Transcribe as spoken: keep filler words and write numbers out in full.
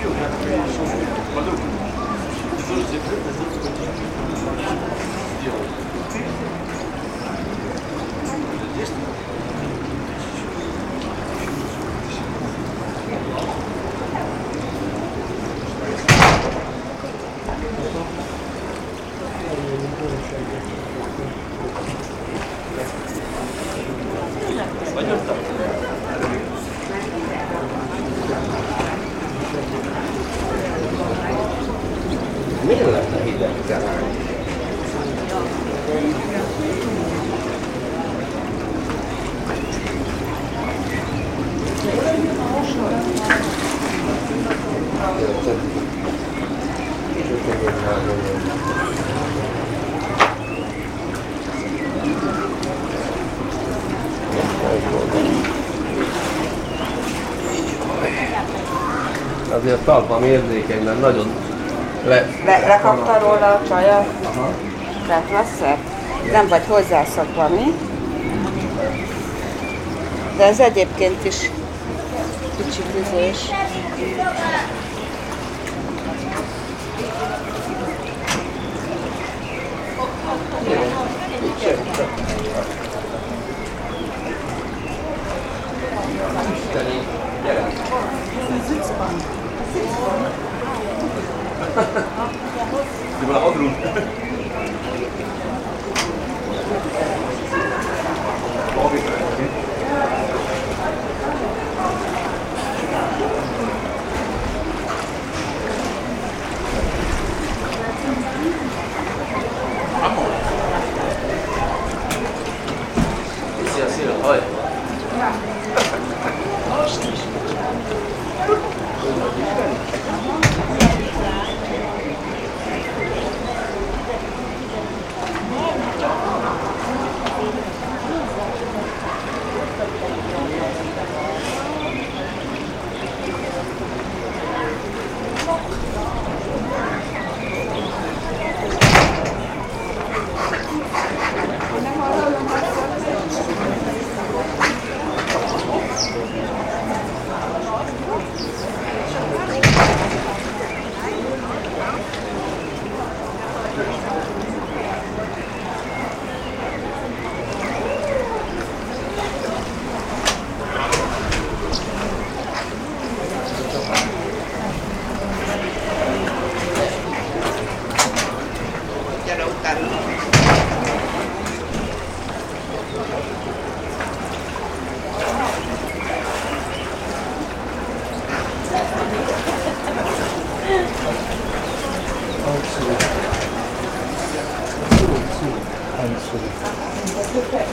Miért lenne hideg talán? Azért talpam érzékeny, mert nagyon le... Le, lekapta róla a csajat? Aha. Tehát messze? Nem vagy hozzászokva, mi? De ez egyébként is kicsit üzés. Isteni, gyere! Die willen ook doen. Szia, szia, haj! Absolut. Absolut.